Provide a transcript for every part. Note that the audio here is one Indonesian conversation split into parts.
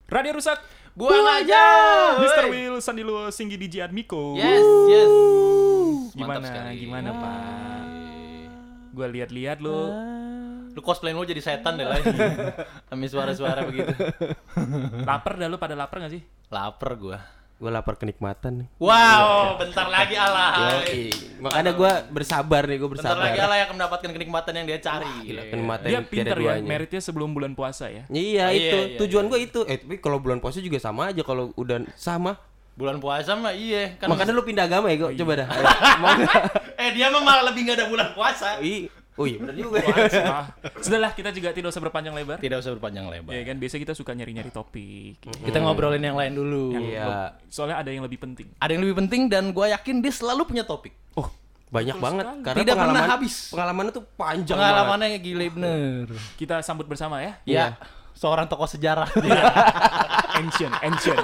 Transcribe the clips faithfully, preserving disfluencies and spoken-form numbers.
Radio Rusak. Buang aja. mister Will, Sandilo, Singgi, D J Admiko. Yes, yes. Gimana? Mantap sekali. Gimana, Pak? Gua lihat-lihat lu. Lu cosplay lu jadi setan deh lagi. Ambil suara-suara begitu. Lapar dah lu, pada lapar enggak sih? Laper gua. Gue lapar kenikmatan nih. Wow, bentar lagi Allah. Yoi. Makanya gue bersabar nih, gue Bentar bersabar. lagi Allah yang mendapatkan kenikmatan yang dia cari. Gila, kenikmatan Dia yang tiada pinter ya, duanya. meritnya sebelum bulan puasa ya. Iya, Oh, itu. iya, iya, Tujuan iya. gue itu. Eh, tapi kalau bulan puasa juga sama aja kalau udah sama. Bulan puasa mah iya kan. Makanya lu pindah agama ya, gue. Coba dah. Mau nggak? Eh dia mah malah lebih enggak ada bulan puasa. Ih, oh iya benar juga. Ah, sudahlah, kita juga tidak usah berpanjang lebar. Tidak usah berpanjang lebar. Ya kan, biasa kita suka nyari-nyari topik. Kita ngobrolin yang lain dulu. Iya. Soalnya ada yang lebih penting. Ada yang lebih penting dan gue yakin dia selalu punya topik. Oh, Banyak Betul banget sekali. karena Tidak pernah pengalaman habis. Pengalamannya tuh panjang banget. Pengalamannya gile bener. kita sambut bersama ya. Ya, seorang tokoh sejarah. Ancient, ancient.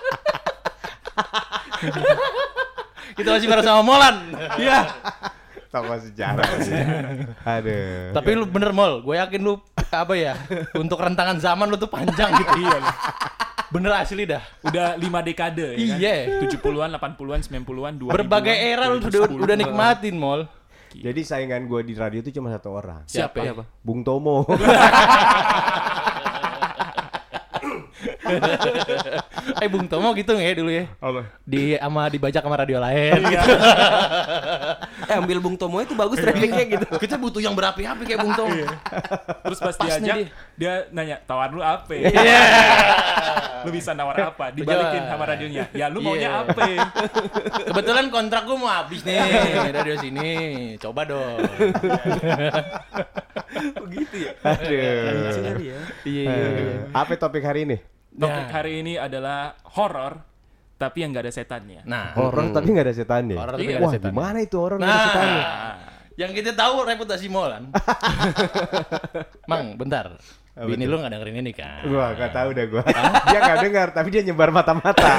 Kita masih bareng sama Molan. Iya. Tokoh sejarah. Aduh. Tapi lu bener Mol, gue yakin lu apa ya? Untuk rentangan zaman lu tuh panjang gitu. Iya. Bener asli dah. Udah lima dekade ya kan? Iya. tujuh puluhan, delapan puluhan, sembilan puluhan, dua ribuan. Berbagai era lu udah udah nikmatin Mol. Jadi saingan gue di radio itu cuma satu orang. Siapa? Siapa? Bung Tomo. Eh Bung Tomo gitu nggak ya dulu ya? Allah. Di sama dibajak sama radio lain gitu. Eh, ambil Bung Tomo itu bagus trainingnya gitu. Kita butuh yang berapi-api kayak Bung Tomo. Terus pas Pas nih diajak, dia. dia nanya, tawar lu apa? Iya. Lu bisa nawar apa? Dibalikin sama radionya. Ya lu maunya Iya. apa? Kebetulan kontrak gua mau habis nih radio sini. Coba dong. Begitu ya. Aduh. ya. Iya. Eh, Apa topik hari ini? Topik Nah. hari ini adalah horor, tapi yang nggak ada setannya. Nah, Horor tapi nggak ada setannya. Horor tapi Iya. nggak ada Wah, setannya. gimana itu horor nggak ada Nah. setannya? yang kita tahu reputasi Molan. Mang, bentar. Bini lu nggak dengerin ini kan? Gua nggak tahu dah gua. Dia nggak dengar, tapi dia nyebar mata-mata.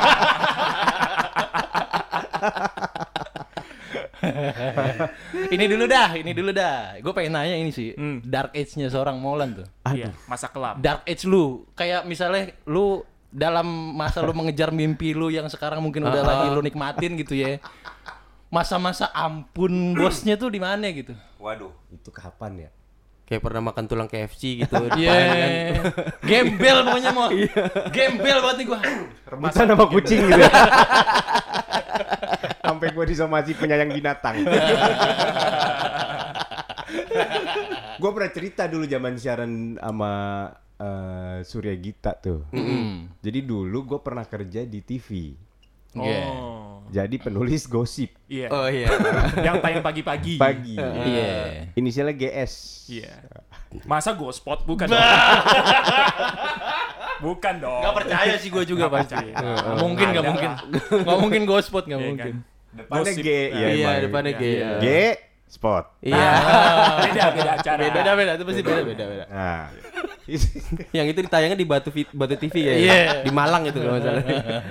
Ini dulu dah, ini dulu dah. Gue pengen nanya ini sih, Hmm. dark age-nya seorang Molan tuh. Iya, masa kelam. Dark age lu, kayak misalnya lu dalam masa lu mengejar mimpi lu yang sekarang mungkin udah lagi lu nikmatin gitu ya. Masa-masa ampun bosnya tuh di mana gitu? Waduh. Itu kapan ya? Kayak pernah makan tulang K F C gitu. Iya. depan kan. Gembel pokoknya mau. Gembel banget nih gua. Rebutan sama kucing gitu. Sampai gua disomasi penyayang binatang. Gua pernah cerita dulu zaman siaran sama eh, Surya Gita tuh. Hmm. Jadi dulu gua pernah kerja di T V. Oh. Jadi penulis gosip Iya. Oh iya. Yang tayang pagi-pagi. pagi. Iya. Inisialnya G S. Iya. Masa Gospot bukan? Bukan dong. Gak percaya sih gua juga Nggak pasti. percaya. Nggak mungkin, nggak Ada mungkin. lah. Nggak mungkin ghospot, nggak Iya mungkin. kan? Depannya Gosip. G. Ya, Iya, emang. depannya G. Iya. G spot. Iya. Beda, beda acara. Beda, beda, beda. Itu pasti beda, beda, beda. Nah. Yang itu ditayangnya di Batu Vi- Batu T V ya. Iya. Di Malang itu kalau nggak salah.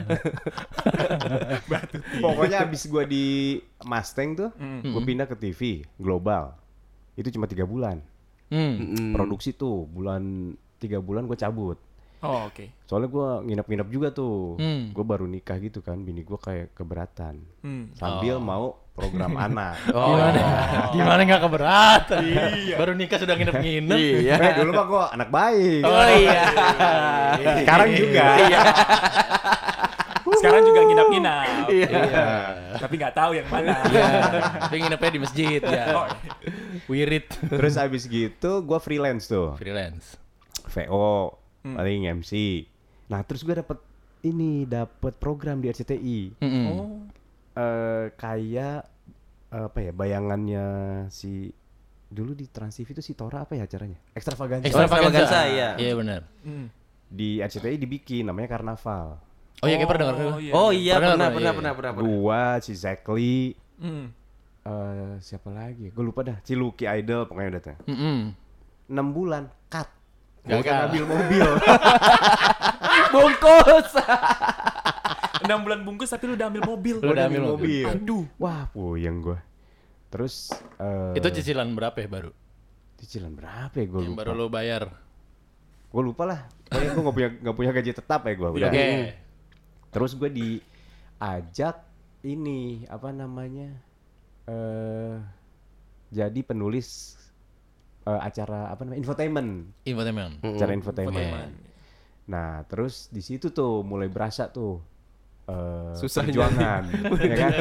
Pokoknya abis gua di Mustang tuh, gua pindah ke T V global. Itu cuma tiga bulan. Hmm. Mm. Produksi tuh bulan tiga bulan gua cabut. Oh, oke. Soalnya gua nginep-nginep juga tuh. Hmm. Gua baru nikah gitu kan, bini gua kayak keberatan. Hmm. Sambil mau program anak. Oh. Gimana? Gimana nggak keberatan? Baru nikah sudah nginep-nginep. Iya. Eh, dulu mah gua anak baik. Oh iya. Sekarang juga. Sekarang juga nginap-nginap. Iya. Tapi nggak tahu yang mana. Tapi nginepnya di masjid ya. Oh, Wirid. Terus abis gitu gua freelance tuh. Freelance. V O, paling M C. Nah, terus gua dapet ini, dapet program di R C T I. Mm-mm. oh. Eh kayak apa ya, bayangannya si dulu di Trans T V itu si Tora apa ya acaranya? Extravaganza. Extravaganza, iya. Iya benar. Hmm. Di R C T I dibikin namanya Karnaval. Oh iya, kayak pernah denger. Oh, iya. Oh iya, Pernah, pernah pernah, pernah iya. pernah pernah. pernah. Gua, si Zekli, Hmm. eh siapa lagi? Gue lupa dah. Si Lucky Idol pokoknya udah tuh. Mm-mm. enam bulan cut. Gagal. Gua ngambil mobil. Bungkus. enam bulan bungkus tapi lu udah ambil mobil. Lu udah ambil mobil. Aduh. Wah, puyeng gua. Terus eh Itu cicilan berapa ya baru? cicilan berapa ya gua Yang lupa. baru lo bayar. Gue lupa lah. Pokoknya gue nggak punya nggak punya gaji tetap ya gue. Oke. Udah. Terus gue diajak ini apa namanya eh jadi penulis eh, acara apa namanya infotainment. Infotainment. Acara infotainment. Infotainment. Nah terus di situ tuh mulai berasa tuh eh, Susahnya. perjuangan, ya kan?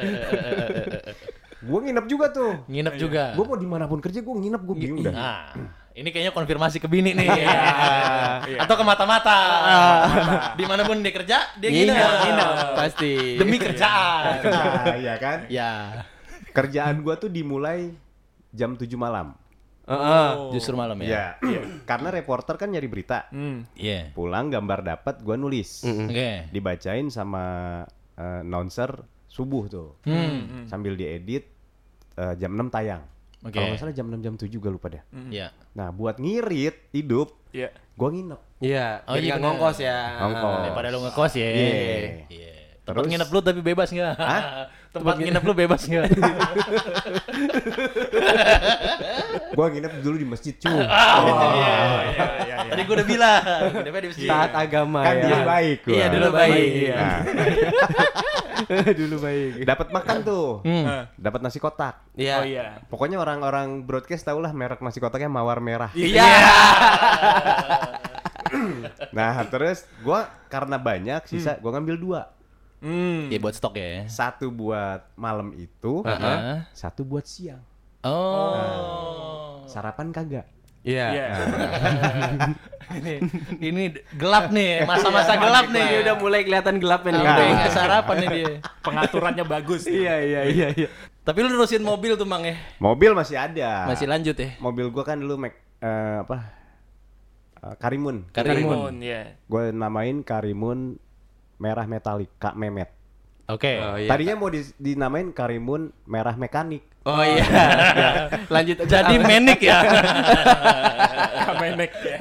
Gue nginep juga tuh. Nginep juga. Gue mau dimanapun kerja gue nginep gue bingung dah. Nah, ini kayaknya konfirmasi ke bini nih. Iya. Atau ke mata-mata. Dimanapun dia kerja, dia nginep. Nginep, pasti. Demi kerjaan. Nah, iya kan? Ya, Kerjaan gue tuh dimulai jam tujuh malam. Heeh. justru malam ya. Iya. Karena reporter kan nyari berita. Hmm. Iya. Pulang gambar dapat gue nulis. Oke. Dibacain sama eh, announcer subuh tuh. Hmm. Sambil diedit eh, jam enam tayang. Oke. Kalau nggak salah jam enam jam tujuh gue lupa deh. Iya. Nah, buat ngirit hidup, Iya. gue nginep. Iya, Oh, jadi iya nggak bener. ngongkos ya. Ngongkos. Daripada lu ngekos ya. Iya. Iya. Tempat Terus- nginep lu tapi bebas nggak? Hah? Tempat nginep lu bebas nggak? Gue nginep dulu di masjid cuy. Iya, iya, iya. Tadi gua udah bilang, nginepnya di masjid. Taat agama Kan ya. dulu baik gua. Iya, dulu baik. Iya. Nah, Dulu baik. dapat makan tuh. Hmm. Dapat nasi kotak. Iya. Oh iya. Pokoknya orang-orang broadcast tau lah merek nasi kotaknya Mawar Merah. Iya. Nah, terus gua karena banyak sisa gua ngambil dua. Hmm. Iya buat stok ya. Satu buat malam itu, Heeh. satu buat siang. Oh. Sarapan kagak. Iya. Iya. ini, ini gelap nih, masa-masa gelap nih. Dia udah mulai kelihatan gelapnya nih. Udah nggak sarapan nih dia. Pengaturannya bagus. Iya, iya, iya, iya. Tapi lu nerusin mobil tuh Mang ya? Mobil masih ada. Masih lanjut ya? Mobil gua kan dulu Mac eh, apa? Eh, Karimun. Karimun. ya. Gue namain Karimun Merah Metalik, Kak Memet. Oke. Oh, iya. Tadinya mau di- dinamain Karimun Merah Mekanik. Oh iya. Lanjut aja. Jadi menik ya. Kamenek ya.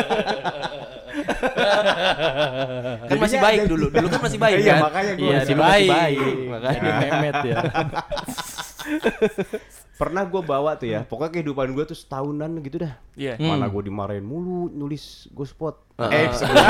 Kan masih Jadinya baik ada- dulu. Dulu kan masih baik Iya, kan? makanya gua Iya, masih dulu masih baik. baik. Makanya. Jadi memet ya. Pernah gue bawa tuh ya, pokoknya kehidupan gue tuh setahunan gitu dah. Iya. Hmm. Mana gue dimarahin mulu nulis gue spot. Heeh. Eh, sebelum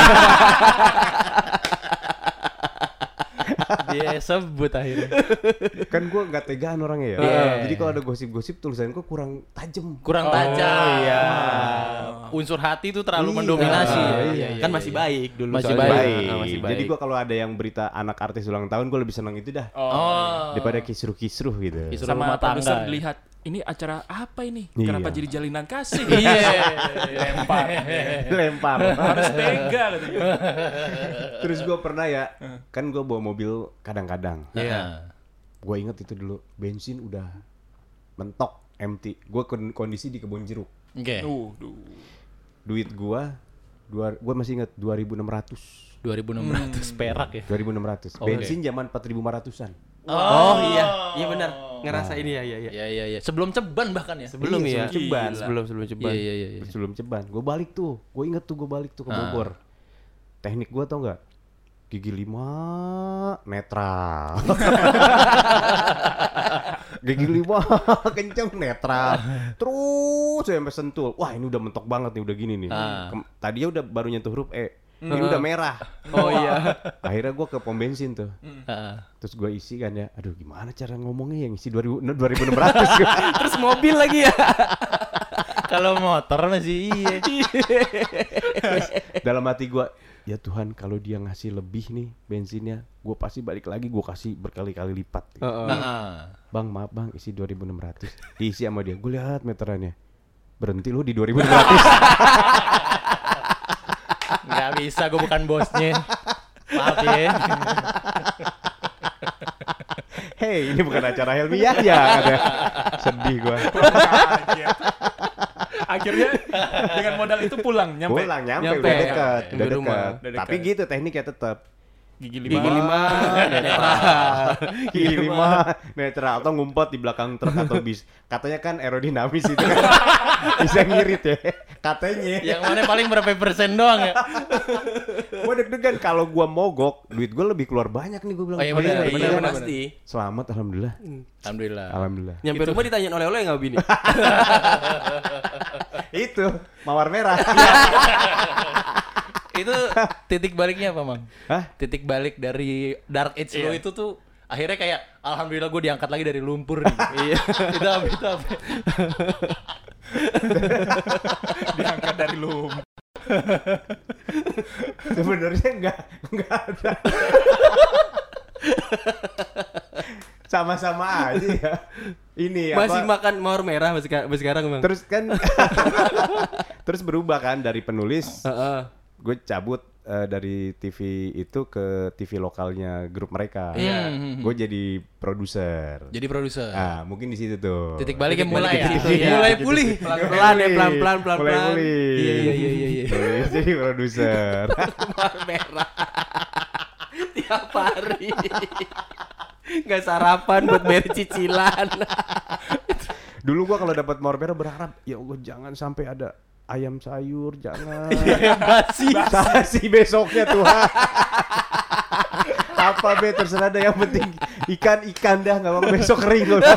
Dia sebut akhirnya. kan gue nggak tegaan orangnya ya. Iya. Jadi kalau ada gosip-gosip tulisan gue kurang tajam. Kurang tajam. iya. Unsur hati tuh terlalu Iya. mendominasi. Iya, ya. iya, Kan masih baik dulu. Masih soalnya. baik. Ah, masih baik. Jadi gue kalau ada yang berita anak artis ulang tahun gue lebih seneng itu dah. Oh. Daripada kisruh-kisruh gitu. Kisruh Sama rumah produser tangga. dilihat ini acara apa ini? Iya. Kenapa jadi jalinan kasih? Iya. Lempar. Lempar. Harus tega katanya. Terus gue pernah ya, kan gue bawa mobil kadang-kadang. Iya. Gue inget itu dulu bensin udah mentok empty. Gue kondisi di kebun jeruk. Oke. Duh, duh. Duit gue, dua, gue masih inget dua ribu enam ratus. dua ribu enam ratus perak ya. dua ribu enam ratus. Oke. Bensin zaman empat ribu lima ratusan. Oh iya, iya benar. Ngerasa ini ya, iya, iya. Iya iya iya. Sebelum ceban bahkan ya. Sebelum Iya, ya. sebelum ceban. Sebelum sebelum ceban. Iya iya iya. iya. Sebelum ceban. Gue balik tuh. Gue inget tuh gue balik tuh ke Ah. Bogor. Teknik gue tau nggak? Gigi lima netral. Gigi lima kenceng netral. Terus sampai sentul. Wah ini udah mentok banget nih, udah gini nih. Ah. Kem- Tadinya udah baru nyentuh huruf E. Ini udah merah. Oh iya. Akhirnya gue ke pom bensin tuh. Heeh. Terus gue isi kan ya. Aduh gimana cara ngomongnya yang isi dua ribu enam ratus. Terus mobil lagi ya. Kalau motor masih iya. Dalam hati gue, ya Tuhan kalau dia ngasih lebih nih bensinnya, gue pasti balik lagi, gue kasih berkali-kali lipat. Heeh. Bang maaf bang, isi dua ribu enam ratus. Diisi sama dia, gue lihat meterannya. Berhenti lu di dua ribu enam ratus. Nggak bisa, gue bukan bosnya. Maaf ya. Hei, ini bukan acara Helmi Yahya katanya. Sedih gue. Kaget. Akhirnya dengan modal itu pulang nyampe. Pulang nyampe, Nyampe, udah dekat, nyampe udah rumah. dekat. Udah dekat. Tapi gitu tekniknya tetap. Gigi lima. Gigi lima netral. Gigi lima netral atau ngumpet di belakang truk atau bis. Katanya kan aerodinamis itu kan. Bisa ngirit ya. Katanya. Yang mana paling berapa persen doang ya? Gue deg-degan kalau gue mogok, duit gue lebih keluar banyak nih gue bilang. Oh iya benar, Iya, benar, benar, pasti. Selamat alhamdulillah. Alhamdulillah. Alhamdulillah. Nyampe rumah ditanyain oleh-oleh nggak bini? Itu mawar merah. Itu titik baliknya apa, Mang? Hah? Titik balik dari dark age lo Iya. itu tuh akhirnya kayak alhamdulillah gue diangkat lagi dari lumpur nih. Iya. Itu apa itu apa? Diangkat dari lu. Sebenarnya enggak enggak ada. Sama-sama aja ya. Ini Masih apa? makan mawar merah masih masih sekarang, Bang. Terus kan terus berubah kan dari penulis Heeh. gue cabut eh, dari T V itu ke T V lokalnya grup mereka. Iya. Gue jadi produser. Jadi produser. Ah, mungkin di situ tuh. Titik baliknya Titik mulai balik ya. ke situ, Iya. ya. Mulai pulih. Pelan-pelan ya, pelan-pelan, Mulai pelan-pelan. pulih. Iya iya iya iya iya. Mulai jadi produser. Mawar merah. Tiap hari. Nggak sarapan buat bayar cicilan. Dulu gua kalau dapat mawar merah berharap ya Allah jangan sampai ada ayam sayur, jangan. Basi. Basi besoknya Tuhan. Apa be terserah deh yang penting ikan-ikan dah nggak apa-apa besok kering loh.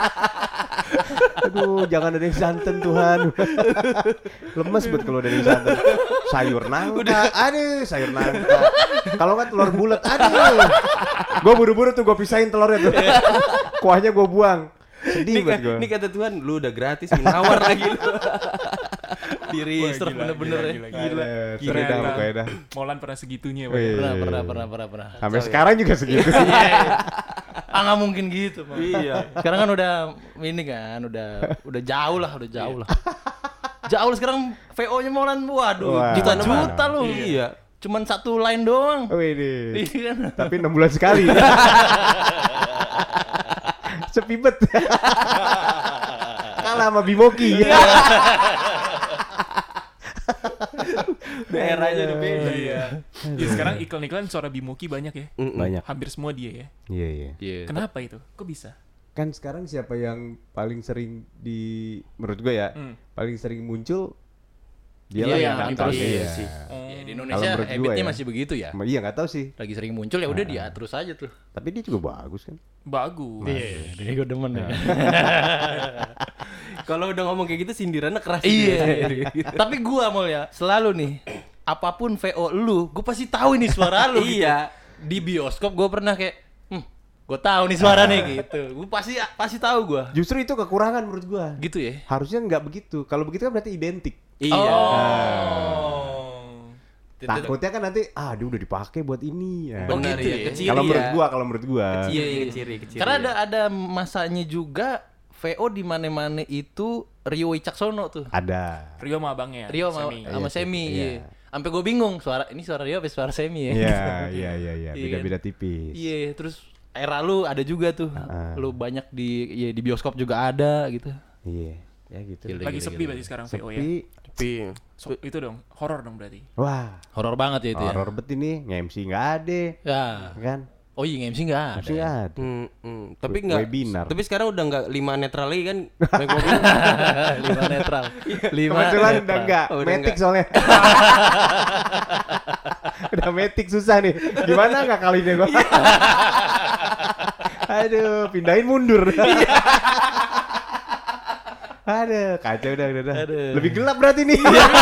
Aduh jangan ada yang santan Tuhan. Lemes banget kalau ada yang santan. Sayur nangka, aduh sayur nangka. Kalau nggak telur bulat, aduh. Gue buru-buru tuh gue pisahin telurnya tuh. Kuahnya gue buang. Sedih Ini, banget ka- gue. ini kata Tuhan, lu udah gratis nawar lagi lu. Di research Gila, bener-bener ya. gila, Gila. Seru dah pokoknya dah. Molan pernah segitunya, Wih. Pak. Pernah pernah pernah pernah pernah. Sampai sekarang juga segitu. Ah nggak mungkin gitu, Bang. Iya. Sekarang kan udah ini kan, udah udah jauh lah, udah jauh lah. Jauh lah sekarang V O-nya Molan, waduh, Wah. juta-juta lu. Iya. Cuman satu line doang. Wih deh. Iya kan? Tapi enam bulan sekali. Sepi bet. Kalah sama Bimoki. Daerahnya udah beda. Iya. Ya, sekarang iklan-iklan suara Bimoki banyak ya. Banyak. Hampir semua dia ya. Iya iya. Iya. Kenapa itu? Kok bisa? Kan sekarang siapa yang paling sering di menurut gue ya, Hmm. paling sering muncul dia Iya, lah iya, yang iya, atas. iya, Iya. sih. Oh. Ya, di Kalau Indonesia menurut gua habitnya ya. masih begitu ya. Iya nggak tahu sih. Lagi sering muncul ya udah dia terus aja tuh. Tapi dia juga bagus kan. Bagus. Iya, dia gue demen ya. Kalau udah ngomong kayak gitu sindirannya keras. Iya. Tapi gua mau ya selalu nih apapun V O lu, gua pasti tahu ini suara lu. gitu. Iya. Di bioskop gua pernah kayak, hmm, gua tahu nih suara nih gitu. Gua pasti pasti tahu gua. Justru itu kekurangan menurut gua. Gitu ya. Harusnya nggak begitu. Kalau begitu kan berarti identik. Iya. Oh. Takutnya kan nanti ah dia udah dipakai buat ini ya. Oh, Benar gitu ya, ya. kecil Kalau ya. menurut gua, kalau menurut gua. Iya, iya, keciri, keciri. Karena ada ada masanya juga V O di mana-mana itu Rio Wicaksono tuh. Ada. Rio sama abangnya. Rio sama Semi. sama Iya, Semi, iya. iya. Sampai gue bingung suara ini suara Rio apa suara Semi ya. Iya, iya, iya, iya. Iya Beda-beda tipis. Iya, terus era lu ada juga tuh. Heeh. Lu banyak di ya, di bioskop juga ada gitu. Iya, ya gitu. Gila. Lagi sepi berarti sekarang V O ya. Sepi. Tapi So, itu dong, horor dong berarti. Wah, Horor banget ya itu ya. horor bet ini, nge-M C nggak ada, Ya. kan? Oh iya M C enggak M C ada. nggak ada. Hmm, hmm. Tapi We- enggak. webinar. Tapi sekarang udah enggak lima netral lagi kan? Naik mobil. Lima netral. Lima Kebetulan udah netral. enggak, Oh, udah metik enggak. soalnya. Udah metik susah nih. Gimana nggak kali ini gua? Aduh, pindahin mundur. Aduh, kacau udah, udah, udah. Aduh. Lebih gelap berarti nih.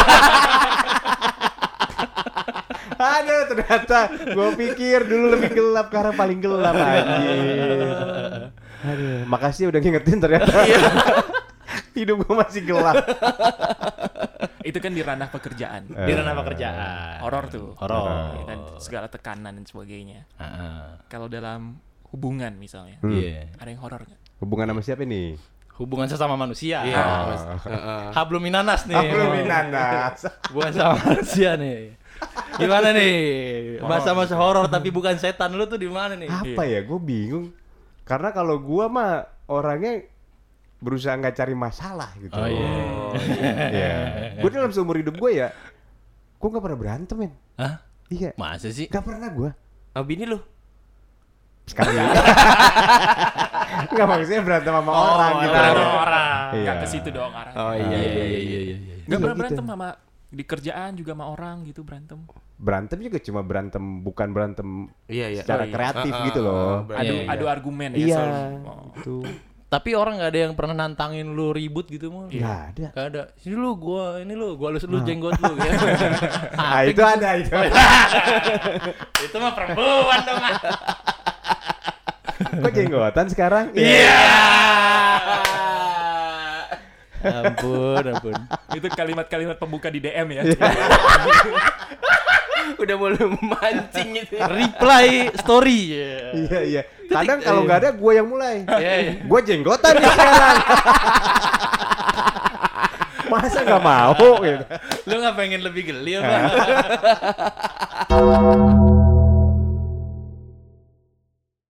Aduh, ternyata gue pikir dulu lebih gelap, karena paling gelap anjir. Aduh, makasih udah ngingetin ternyata. Hidup gue masih gelap. Itu kan di ranah pekerjaan. Di ranah pekerjaan. Horor tuh. Horor. Ya kan, segala tekanan dan sebagainya. Heeh. Kalau dalam hubungan misalnya, Hmm. Iya. ada yang horor nggak? Hubungan sama siapa nih? Hubungan sesama manusia. Iya. Ah. Mas. Heeh. Hablum minanas nih. Belum minanas. Hubungan sama manusia nih. Gimana nih? Masa-masa horor tapi bukan setan lu tuh di mana nih? Apa ya? Gue bingung. Karena kalau gue mah orangnya berusaha nggak cari masalah gitu. Oh iya. Iya. Gue dalam seumur hidup gue ya, gue nggak pernah berantem men. Hah? Iya. Masa sih? Nggak pernah gue. Ah, bini lu. Sekali. Nggak maksudnya berantem sama orang gitu. Berantem sama orang. Iya. Nggak ke situ dong arahnya. Oh iya iya iya iya. iya. Nggak Iya, pernah gitu. berantem sama di kerjaan juga sama orang gitu berantem. Berantem juga cuma berantem, bukan berantem Iya iya. secara Oh, iya. kreatif Ah, ah, gitu ah, loh. ah, Adu Iya, iya. adu argumen ya. Iya. selalu. Oh. Itu. Tapi orang nggak ada yang pernah nantangin lu ribut gitu mah. Nggak ada. Gak ada. Sini lu gua ini lu gua lus lu jenggot lu ya. Ah, itu ada itu. Itu mah perempuan dong. Ah. Kok jenggotan sekarang? Iya. Ampun, ampun. Itu kalimat-kalimat pembuka di D M ya. Udah mulai memancing gitu. Reply story. Iya iya. Kadang kalau nggak ada gue yang mulai. Iya, iya. Gue jenggotan nih sekarang. Masa nggak mau gitu. Lu nggak pengen lebih geli apa?